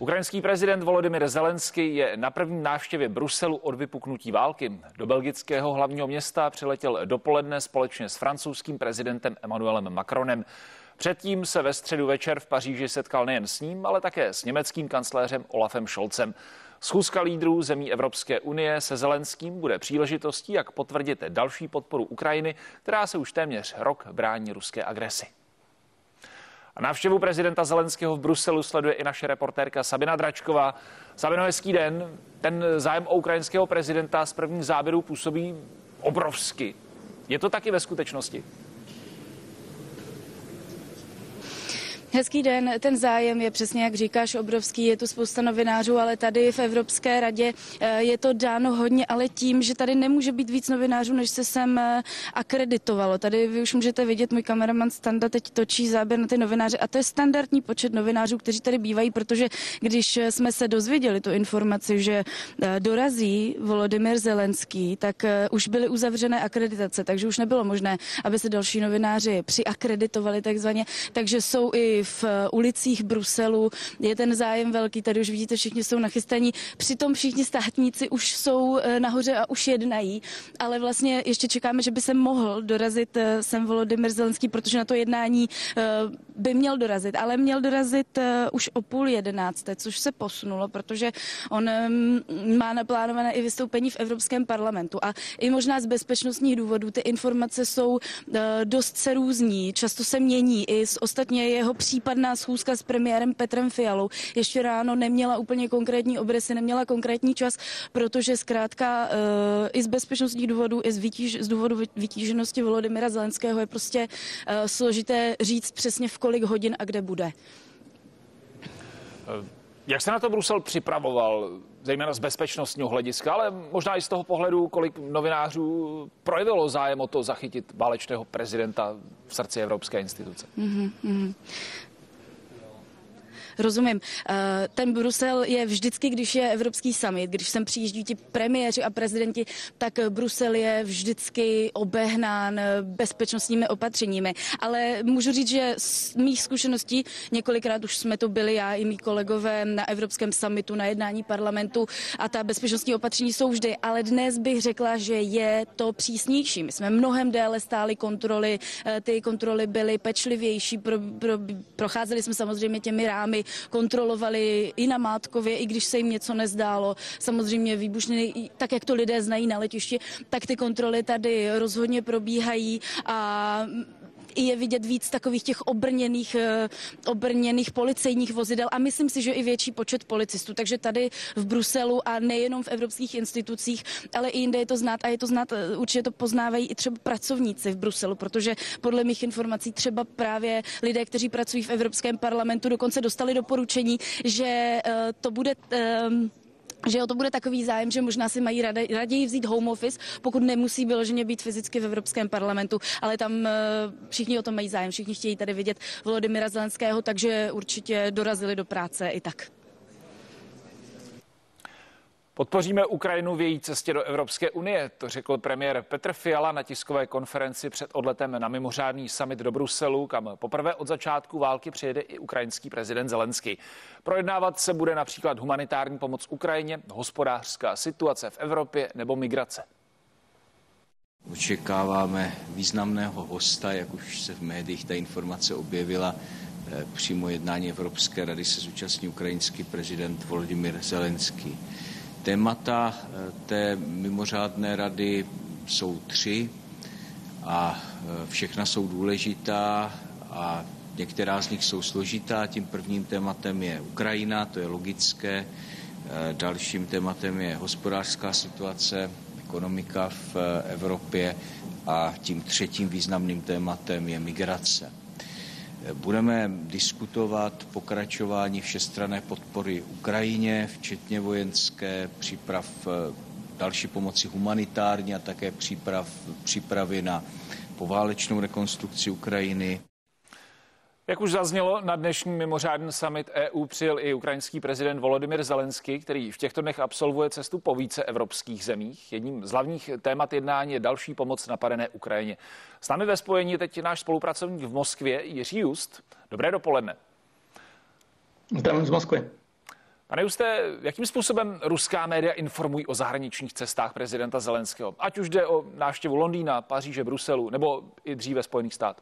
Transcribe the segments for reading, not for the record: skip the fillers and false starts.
Ukrajinský prezident Volodymyr Zelenský je na první návštěvě Bruselu od vypuknutí války. Do belgického hlavního města přiletěl dopoledne společně s francouzským prezidentem Emmanuelem Macronem. Předtím se ve středu večer v Paříži setkal nejen s ním, ale také s německým kancléřem Olafem Scholzem. Schůzka lídrů zemí Evropské unie se Zelenským bude příležitostí, jak potvrdit další podporu Ukrajiny, která se už téměř rok brání ruské agresi. A návštěvu prezidenta Zelenského v Bruselu sleduje i naše reportérka Sabina Dračková. Sabino, hezký den. Ten zájem o ukrajinského prezidenta z prvních záběrů působí obrovsky. Je to taky ve skutečnosti? Hezký den, ten zájem je přesně, jak říkáš, obrovský, je tu spousta novinářů, ale tady v Evropské radě je to dáno hodně, ale tím, že tady nemůže být víc novinářů, než se sem akreditovalo. Tady vy už můžete vidět, můj kameraman Standa teď točí záběr na ty novináře a to je standardní počet novinářů, kteří tady bývají, protože když jsme se dozvěděli tu informaci, že dorazí Volodymyr Zelenský, tak už byly uzavřené akreditace, takže už nebylo možné, aby se další novináři přiakreditovali takzvaně, takže jsou i v ulicích Bruselu, je ten zájem velký, tady už vidíte, všichni jsou nachystaní, přitom všichni státníci už jsou nahoře a už jednají, ale vlastně ještě čekáme, že by se mohl dorazit sem Volodymyr Zelenský, protože na to jednání by měl dorazit, ale měl dorazit už o 10:30, což se posunulo, protože on má naplánované i vystoupení v Evropském parlamentu a i možná z bezpečnostních důvodů ty informace jsou dost se různí, často se mění, i ostatně jeho případná schůzka s premiérem Petrem Fialou ještě ráno neměla úplně konkrétní obrysy, neměla konkrétní čas, protože zkrátka i z bezpečnostních důvodů, i z důvodu vytíženosti Volodymyra Zelenského je prostě složité říct přesně v kolik hodin a kde bude. Jak se na to Brusel připravoval, zejména z bezpečnostního hlediska, ale možná i z toho pohledu, kolik novinářů projevilo zájem o to zachytit válečného prezidenta v srdci evropské instituce? Rozumím. Ten Brusel je vždycky, když je evropský summit, když sem přijíždí ti premiéři a prezidenti, tak Brusel je vždycky obehnán bezpečnostními opatřeními. Ale můžu říct, že z mých zkušeností, několikrát už jsme to byli já i mý kolegové na evropském summitu, na jednání parlamentu a ta bezpečnostní opatření jsou vždy, ale dnes bych řekla, že je to přísnější. My jsme mnohem déle stáli kontroly, ty kontroly byly pečlivější, procházeli jsme samozřejmě těmi rámy, kontrolovali i na Mátkově, i když se jim něco nezdálo. Samozřejmě výbušniny, tak jak to lidé znají na letišti, tak ty kontroly tady rozhodně probíhají a je vidět víc takových těch obrněných policejních vozidel a myslím si, že i větší počet policistů. Takže tady v Bruselu a nejenom v evropských institucích, ale i jinde je to znát a je to znát, určitě to poznávají i třeba pracovníci v Bruselu, protože podle mých informací třeba právě lidé, kteří pracují v Evropském parlamentu, dokonce dostali doporučení, že to bude to bude takový zájem, že možná si mají raději vzít home office, pokud nemusí vyloženě být fyzicky v Evropském parlamentu, ale tam všichni o tom mají zájem, všichni chtějí tady vidět Volodymyra Zelenského, takže určitě dorazili do práce i tak. Podpoříme Ukrajinu v její cestě do Evropské unie, to řekl premiér Petr Fiala na tiskové konferenci před odletem na mimořádný summit do Bruselu, kam poprvé od začátku války přijede i ukrajinský prezident Zelenský. Projednávat se bude například humanitární pomoc Ukrajině, hospodářská situace v Evropě nebo migrace. Očekáváme významného hosta, jak už se v médiích ta informace objevila. Přímo jednání Evropské rady se zúčastní ukrajinský prezident Volodymyr Zelenský. Témata té mimořádné rady jsou 3 a všechna jsou důležitá a některá z nich jsou složitá. Tím prvním tématem je Ukrajina, to je logické. Dalším tématem je hospodářská situace, ekonomika v Evropě a tím třetím významným tématem je migrace. Budeme diskutovat pokračování všestranné podpory Ukrajině, včetně vojenské, příprav další pomoci humanitární a také přípravy na poválečnou rekonstrukci Ukrajiny. Jak už zaznělo, na dnešní mimořádný summit EU přijel i ukrajinský prezident Volodymyr Zelenský, který v těchto dnech absolvuje cestu po více evropských zemích. Jedním z hlavních témat jednání je další pomoc napadené Ukrajině. S námi ve spojení je teď náš spolupracovník v Moskvě Jiří Just. Dobré dopoledne. Zdravím z Moskvy. Pane Juste, jakým způsobem ruská média informují o zahraničních cestách prezidenta Zelenského? Ať už jde o návštěvu Londýna, Paříže, Bruselu nebo i dříve Spojených států.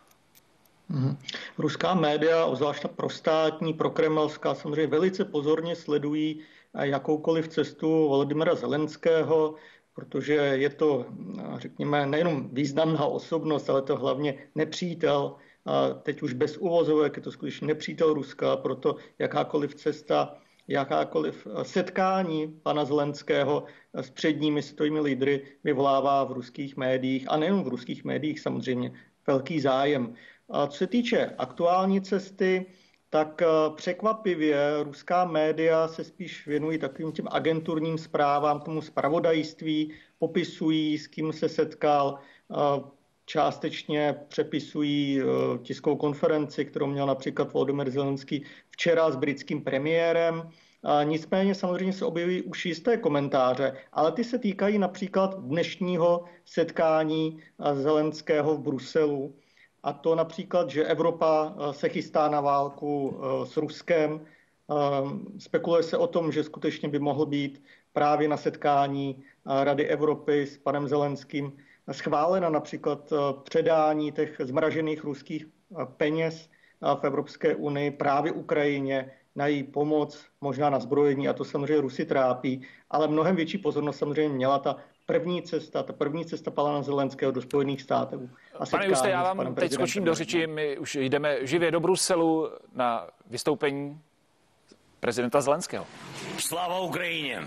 Ruská média, obzvlášť prostátní, prokremelská, samozřejmě velice pozorně sledují jakoukoliv cestu Volodymyra Zelenského, protože je to, řekněme, nejenom významná osobnost, ale to hlavně nepřítel. A teď už bez uvozovek, je to skutečně nepřítel Ruska, proto jakákoliv cesta, jakákoliv setkání pana Zelenského s předními světovými lídry vyvolává v ruských médiích, a nejen v ruských médiích samozřejmě, velký zájem. A co se týče aktuální cesty, tak překvapivě ruská média se spíš věnují takovým těm agenturním zprávám, tomu zpravodajství, popisují, s kým se setkal, částečně přepisují tiskovou konferenci, kterou měl například Volodymyr Zelenský včera s britským premiérem. Nicméně samozřejmě se objevují už jisté komentáře, ale ty se týkají například dnešního setkání Zelenského v Bruselu. A to například, že Evropa se chystá na válku s Ruskem. Spekuluje se o tom, že skutečně by mohl být právě na setkání Rady Evropy s panem Zelenským schválena například předání těch zmražených ruských peněz v Evropské unii právě Ukrajině na její pomoc, možná na zbrojení, a to samozřejmě Rusy trápí, ale mnohem větší pozornost samozřejmě měla ta první cesta pana Zelenského do Spojených států. Pane Juste, já vám teď skočím do řeči, my už jdeme živě do Bruselu na vystoupení prezidenta Zelenského. Slava Ukrajině!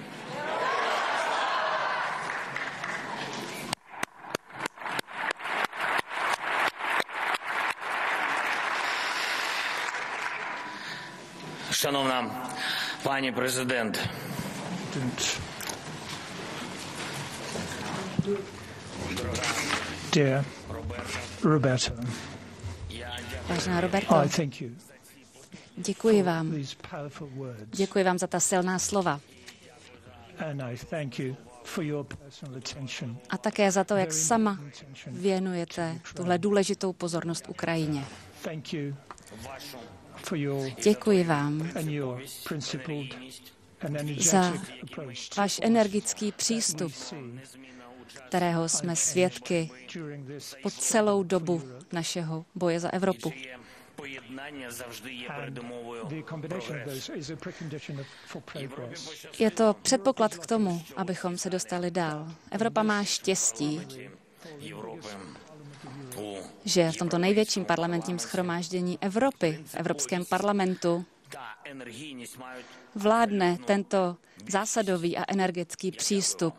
Шановна пані президент. Dear Roberta, Vážená Roberto, I thank you děkuji vám. these powerful words, Děkuji vám za ta silná slova. and I thank you for your personal attention. A také za to, jak Very sama important attention. věnujete tuhle důležitou pozornost Ukrajině. Thank you for your Děkuji vám and your principled and za energetic approach to váš energický přístup, we see kterého jsme svědky during this po celou dobu našeho boje za Evropu. Поєднання завжди є and передумовою the combination of прогресу. those is a precondition for progress. Je to předpoklad k tomu, abychom se dostali dál. Evropa má štěstí, Європи у že v tomto největším parlamentním shromáždění Evropy, v Evropském parlamentu, та енергійність мають vládne tento zásadový a energetický přístup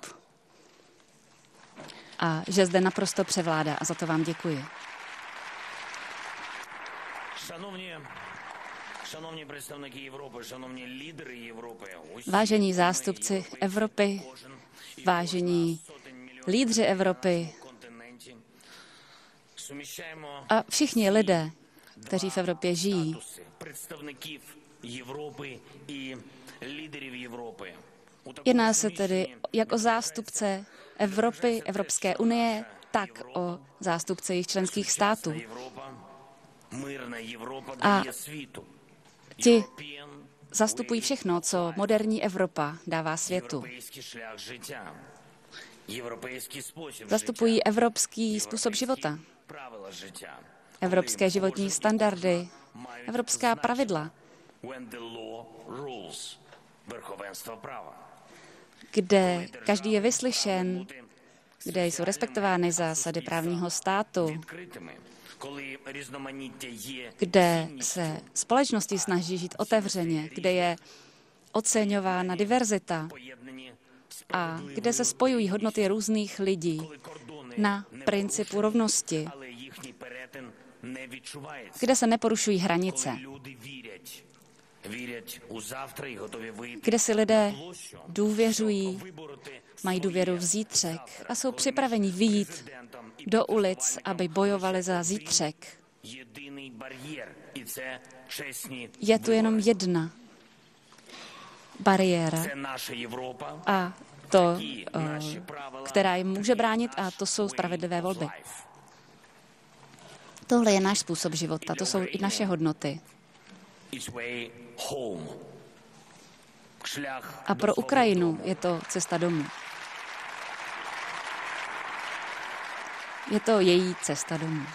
a že zde naprosto převládá a za to vám děkuji. Шановні представники Європи, шановні лідери Європи, Vážení zástupci Evropy, vážení lídři Evropy континенті, суміщаємо a všichni lidé, kteří v Evropě žijí, представників Європи і лідерів Європи. У такому jedná se tedy суміщенні jak o zástupce Evropy, Evropské unie, tak o zástupce jejich členských států. Європа, мирна Європа A дає світу. Ti Європієн zastupují všechno, co moderní Evropa dává světu. європейський шлях життя. Європейський спосіб Zastupují життя. evropský způsob života, Правила життя. evropské životní standardy, Мають evropská значення. pravidla, When the law rules. Верховенство права. kde každý je vyslyšen, kde jsou respektovány zásady právního státu, Відкритими. Коли різноманіття є kde se společnosti snaží žít otevřeně, kde je oceňována diverzita поєднані a kde se spojují hodnoty různých lidí коли кордони na не principu rovnosti, але їхній перетин не відчувається. kde se neporušují hranice, Коли люди вірять у завтра і готові вийти kde si lidé на площу, důvěřují, вибороти mají důvěru v zítřek a jsou připraveni vyjít президентом і do ulic, aby bojovali za zítřek. єдиний бар'єр, і це чесні Je tu jenom jedna bariéra Це наша Європа, a to, і наші правила, která jim může bránit, a to jsou spravedlivé volby. Tohle je náš způsob života, to jsou i naše hodnoty. It's way home. A pro Ukrajinu je to cesta domů. Je to její cesta domů.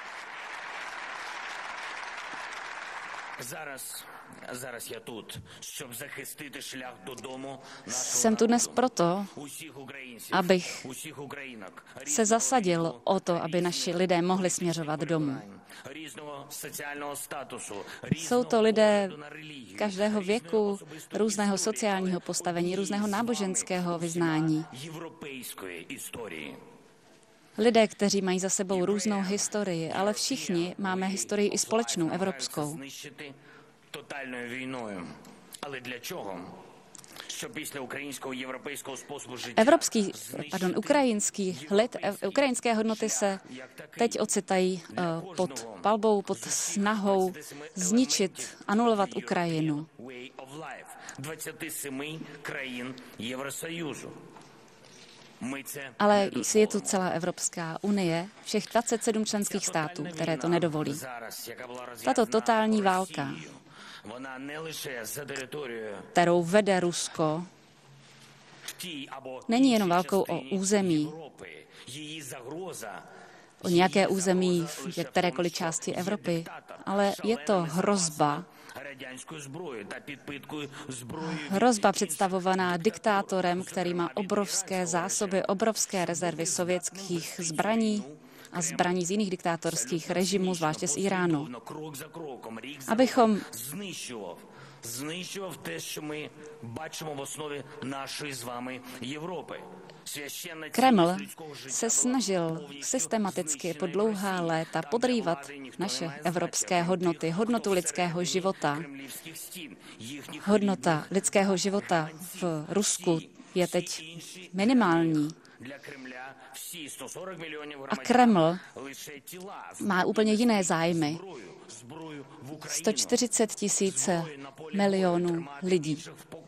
Jsem tu dnes proto, abych se zasadil o to, aby naši lidé mohli směřovat domů. Jsou to lidé každého věku, různého sociálního postavení, různého náboženského vyznání. Lidé, kteří mají za sebou různou historii, ale všichni máme historii i společnou, evropskou. Ukrajinské hodnoty se teď ocitají pod palbou, pod snahou zničit, anulovat Ukrajinu. Ale je tu celá Evropská unie, všech 27 členských států, které to nedovolí. Tato totální válka, kterou vede Rusko, není jenom válkou o území, o nějaké území v kterékoliv části Evropy, ale je to hrozba představovaná diktátorem, který má obrovské zásoby, obrovské rezervy sovětských zbraní a zbraní z jiných diktátorských režimů, zvláště z Iránu. Abychom знищував те, що ми бачимо в основі нашої з вами Європи. Kreml se snažil systematicky po dlouhá léta podrývat naše evropské hodnoty, hodnotu lidského života. Hodnota lidského života v Rusku je teď minimální. A Kreml má úplně jiné zájmy. 140 milionů lidí.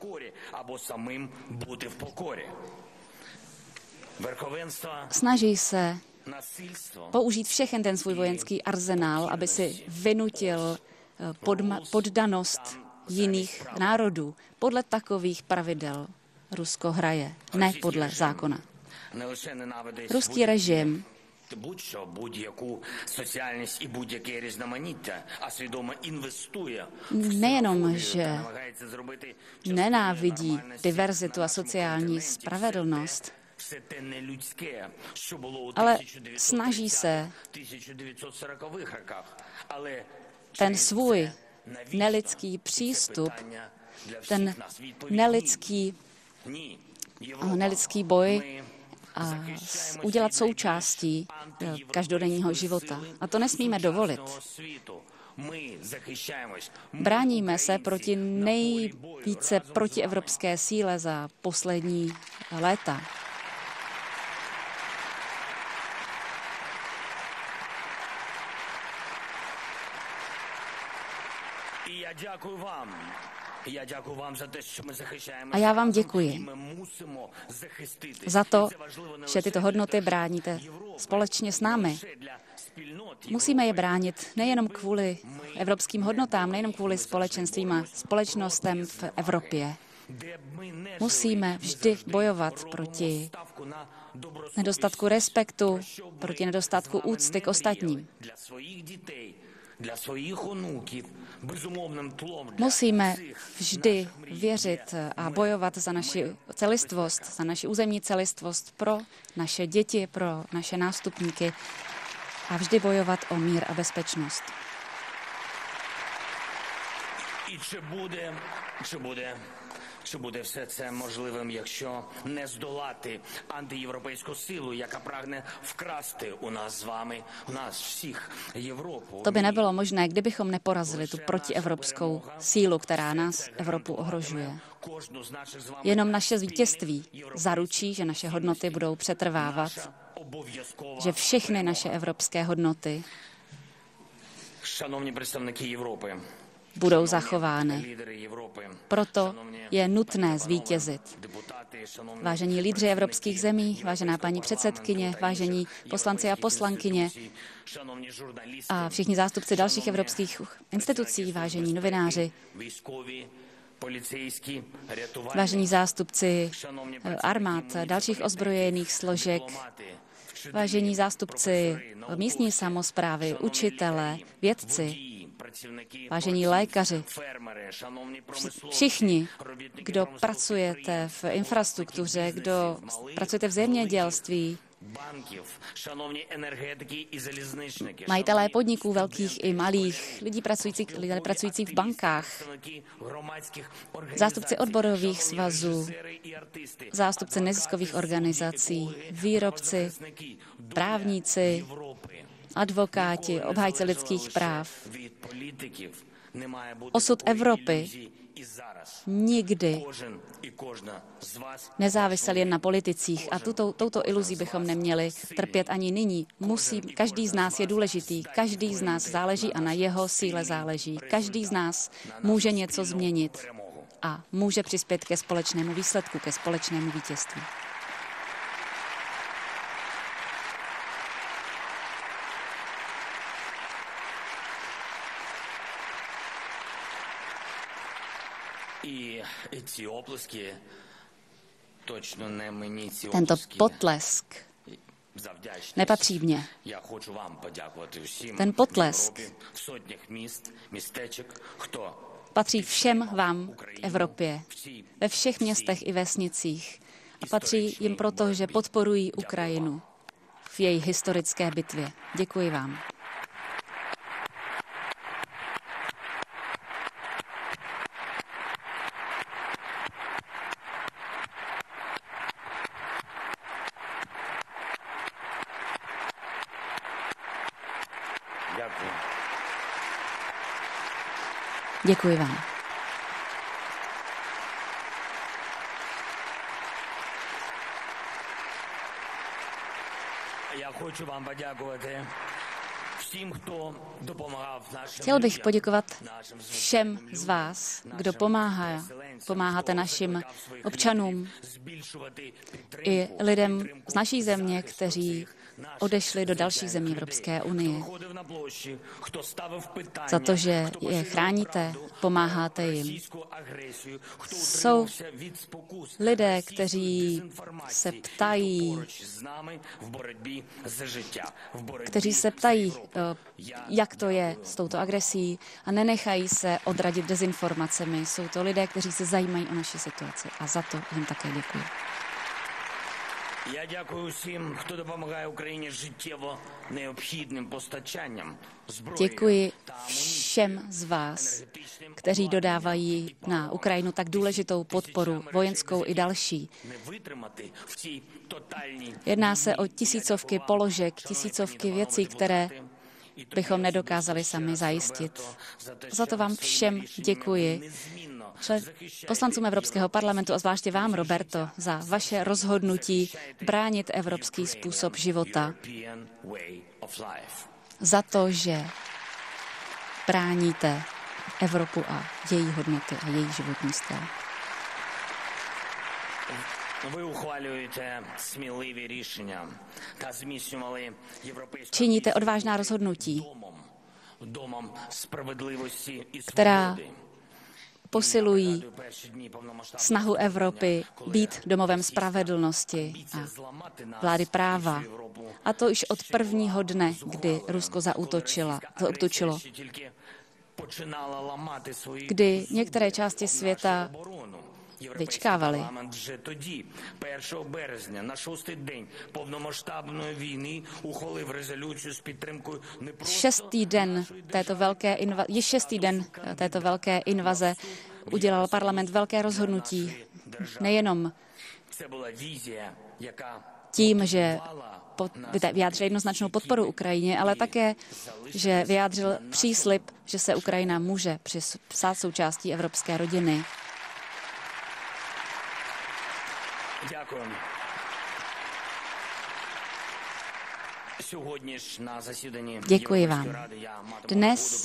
Snaží se použít všechen ten svůj vojenský arzenál, aby si vynutil poddanost jiných národů. Podle takových pravidel Rusko hraje, ne podle zákona. Ruský režim nejenom, že nenávidí diverzitu a sociální spravedlnost, ale snaží se ten svůj nelidský přístup, ten nelidský boj udělat součástí každodenního života. A to nesmíme dovolit. Bráníme se proti nejvíce protievropské síle za poslední léta. A já vám děkuji za to, že tyto hodnoty bráníte společně s námi. Musíme je bránit nejenom kvůli evropským hodnotám, nejenom kvůli společenstvím a společnostem v Evropě. Musíme vždy bojovat proti nedostatku respektu, proti nedostatku úcty k ostatním. Musíme vždy věřit a bojovat za naši celistvost, za naši územní celistvost pro naše děti, pro naše nástupníky a vždy bojovat o mír a bezpečnost. Чи буде все це можливим, якщо не здолати антиєвропейську силу, яка прагне вкрасти у нас з вами, у нас всіх Європу? To by nebylo možné, kdybychom neporazili tu protievropskou sílu, která nás, Evropu, ohrožuje. Jenom naše vítězství zaručí, že naše hodnoty budou přetrvávat, že všechny naše evropské hodnoty budou zachovány. Proto je nutné zvítězit. Vážení lídři evropských zemí, vážená paní předsedkyně, vážení poslanci a poslankyně a všichni zástupci dalších evropských institucí, vážení novináři, vážení zástupci armád, dalších ozbrojených složek, vážení zástupci místní samosprávy, učitelé, vědci, vážení lékaři, všichni, kdo pracujete v infrastruktuře, kdo pracujete v zemědělství, majitelé podniků velkých i malých, lidé pracující v bankách, zástupci odborových svazů, zástupci neziskových organizací, výrobci, právníci, advokáti, obhájci lidských práv. Osud Evropy nikdy nezávisel jen na politicích a touto iluzí bychom neměli trpět ani nyní. Každý z nás je důležitý, každý z nás záleží a na jeho síle záleží. Každý z nás může něco změnit a může přispět ke společnému výsledku, ke společnému vítězství. Tento potlesk nepatří mně. Ten potlesk patří všem vám v Evropě, ve všech městech i vesnicích. A patří jim proto, že podporují Ukrajinu v její historické bitvě. Děkuji vám. Děkuji vám. Chtěl bych poděkovat všem z vás, kdo pomáháte našim občanům i lidem z naší země, kteří odešli do dalších zemí Evropské unie. Za to, že je chráníte, pomáháte jim. Jsou lidé, kteří se ptají, jak to je s touto agresí a nenechají se odradit dezinformacemi. Jsou to lidé, kteří se zajímají o naši situaci a za to jim také děkuji. Я дякую всім, хто допомагає Україні життєво необхідним постачанням зброї. Děkuji všem z vás, kteří dodávají na Ukrajinu tak důležitou podporu, vojenskou i další. Jedná se o tisícovky položek, tisícovky věcí, které bychom nedokázali sami zajistit. Za to vám všem děkuji. Poslancům Evropského parlamentu a zvláště vám, Roberto, za vaše rozhodnutí bránit evropský způsob života. Za to, že bráníte Evropu a její hodnoty a její životní styl. Činíte odvážná rozhodnutí, která posilují snahu Evropy být domovem spravedlnosti a vlády práva. A to již od prvního dne, kdy Rusko zaútočilo. Kdy některé části světa vyčkávali. 6. den této velké invaze udělal parlament velké rozhodnutí. Nejenom tím, že vyjádřil jednoznačnou podporu Ukrajině, ale také, že vyjádřil příslib, že se Ukrajina může stát součástí evropské rodiny. Děkuji vám. Dnes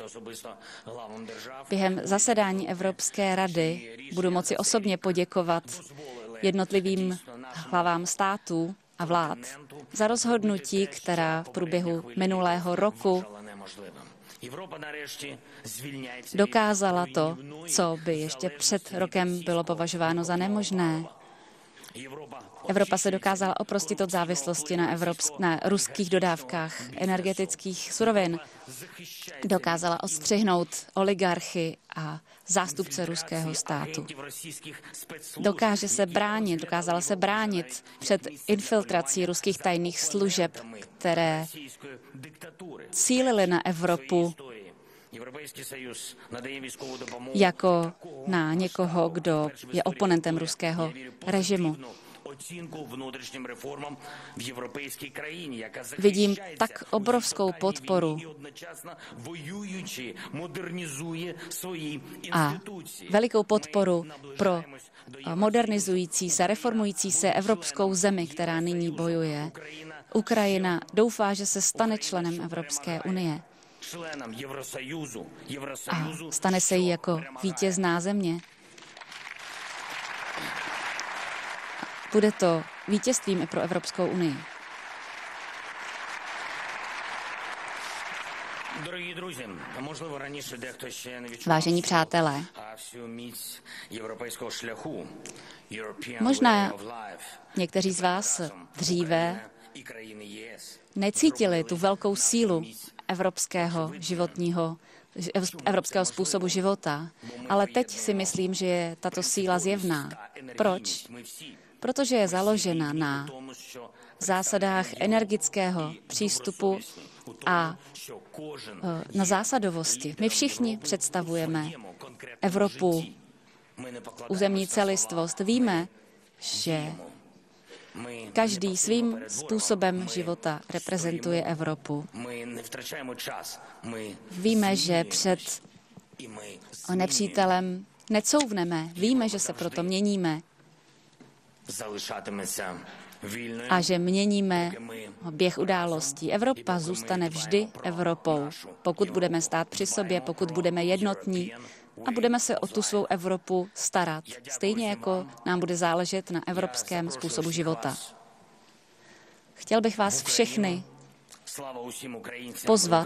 během zasedání Evropské rady budu moci osobně poděkovat jednotlivým hlavám států a vlád za rozhodnutí, která v průběhu minulého roku Dokázala to, co by ještě před rokem bylo považováno za nemožné. Evropa se dokázala oprostit od závislosti na ruských dodávkách energetických surovin. Dokázala odstřihnout oligarchy a zástupce ruského státu. Dokázala se bránit před infiltrací ruských tajných služeb, které cílily na Evropu jako na někoho, kdo je oponentem ruského režimu. Vidím tak obrovskou podporu a velikou podporu pro modernizující se, reformující se evropskou zemi, která nyní bojuje. Ukrajina doufá, že se stane členem Evropské unie a stane se jí jako vítězná země. Bude to vítězstvím i pro Evropskou unii. Vážení přátelé, možná někteří z vás dříve necítili tu velkou sílu evropského způsobu života, ale teď si myslím, že je tato síla zjevná. Proč? Protože je založena na zásadách energického přístupu a na zásadovosti. My všichni představujeme Evropu, územní celistvost. Víme, že každý svým způsobem života reprezentuje Evropu. Víme, že před nepřítelem necouvneme. Víme, že se proto měníme a že měníme běh událostí. Evropa zůstane vždy Evropou, pokud budeme stát při sobě, pokud budeme jednotní a budeme se o tu svou Evropu starat, stejně jako nám bude záležet na evropském způsobu života. Chtěl bych vás všechny pozvat,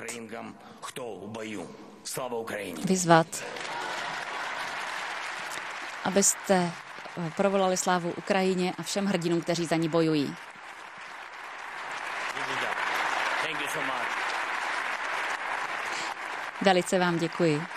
vyzvat, abyste provolali slávu Ukrajině a všem hrdinům, kteří za ní bojují. Velice vám děkuji.